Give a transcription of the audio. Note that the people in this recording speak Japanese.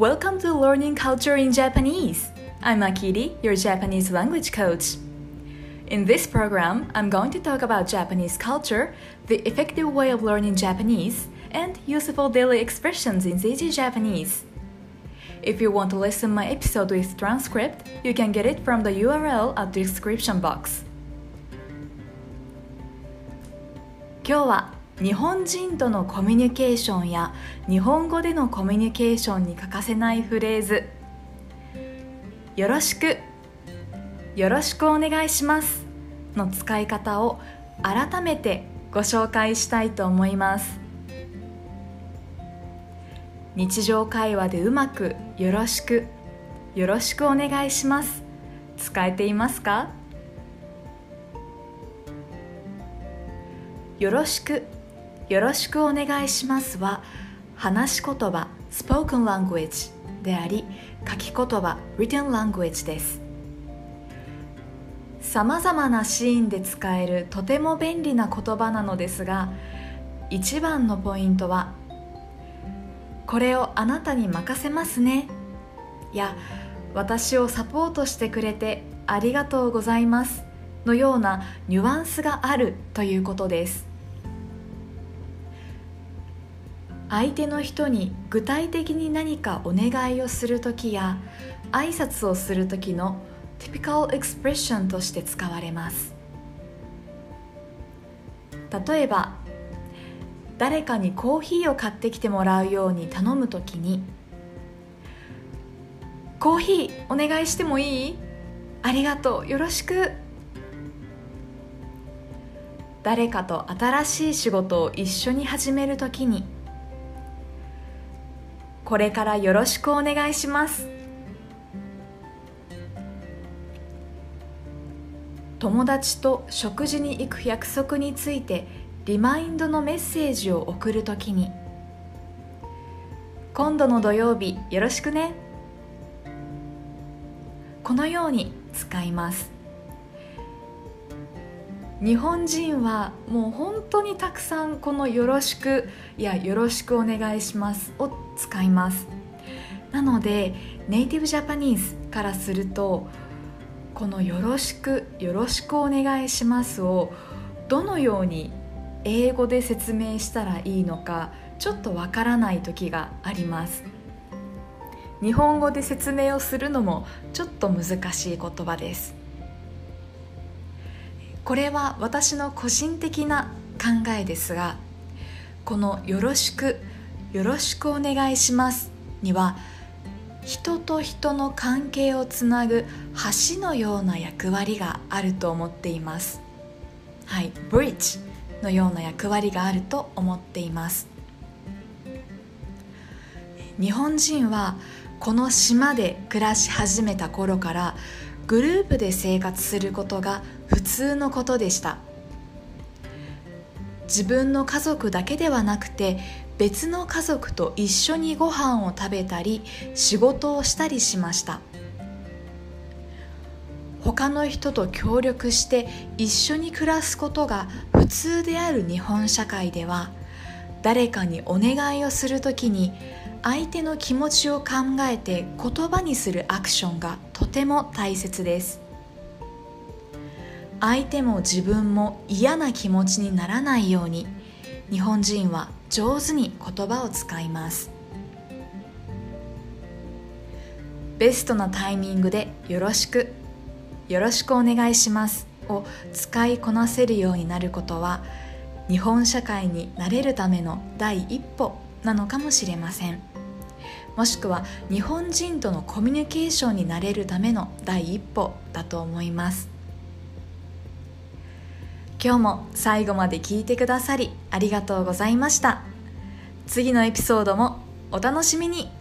Welcome to Learning Culture in Japanese. I'm Akiri, your Japanese language coach. In this program, I'm going to talk about Japanese culture, the effective way of learning Japanese, and useful daily expressions in easy Japanese. If you want to listen my episode with transcript, you can get it from the URL at the description box. 今日は日本人とのコミュニケーションや日本語でのコミュニケーションに欠かせないフレーズよろしくお願いしますの使い方を改めてご紹介したいと思います。日常会話でうまくよろしくお願いします使えていますか？よろしくお願いしますは話し言葉 spoken language であり書き言葉 written language です。さまざまなシーンで使えるとても便利な言葉なのですが、一番のポイントはこれをあなたに任せますねや私をサポートしてくれてありがとうございますのようなニュアンスがあるということです。相手の人に具体的に何かお願いをするときや挨拶をするときの typical expression として使われます。例えば誰かにコーヒーを買ってきてもらうように頼むときにコーヒーお願いしてもいい？ありがとう、よろしく。誰かと新しい仕事を一緒に始めるときにこれからよろしくお願いします。友達と食事に行く約束についてリマインドのメッセージを送るときに今度の土曜日よろしくね。このように使います。日本人はもう本当にたくさんこのよろしくやよろしくお願いしますを使います。なのでネイティブジャパニーズからするとこのよろしくお願いしますをどのように英語で説明したらいいのかちょっとわからない時があります。日本語で説明をするのもちょっと難しい言葉です。これは私の個人的な考えですが、このよろしくお願いしますには人と人の関係をつなぐ橋のような役割があると思っています。はい、ブリッジのような役割があると思っています。日本人はこの島で暮らし始めた頃からグループで生活することが普通のことでした。自分の家族だけではなくて別の家族と一緒にご飯を食べたり仕事をしたりしました。他の人と協力して一緒に暮らすことが普通である日本社会では誰かにお願いをするときに相手の気持ちを考えて言葉にするアクションがとても大切です。相手も自分も嫌な気持ちにならないように日本人は上手に言葉を使います。ベストなタイミングでよろしくお願いしますを使いこなせるようになることは日本社会に慣れるための第一歩なのかもしれません。もしくは日本人とのコミュニケーションになれるための第一歩だと思います。今日も最後まで聞いてくださりありがとうございました。次のエピソードもお楽しみに。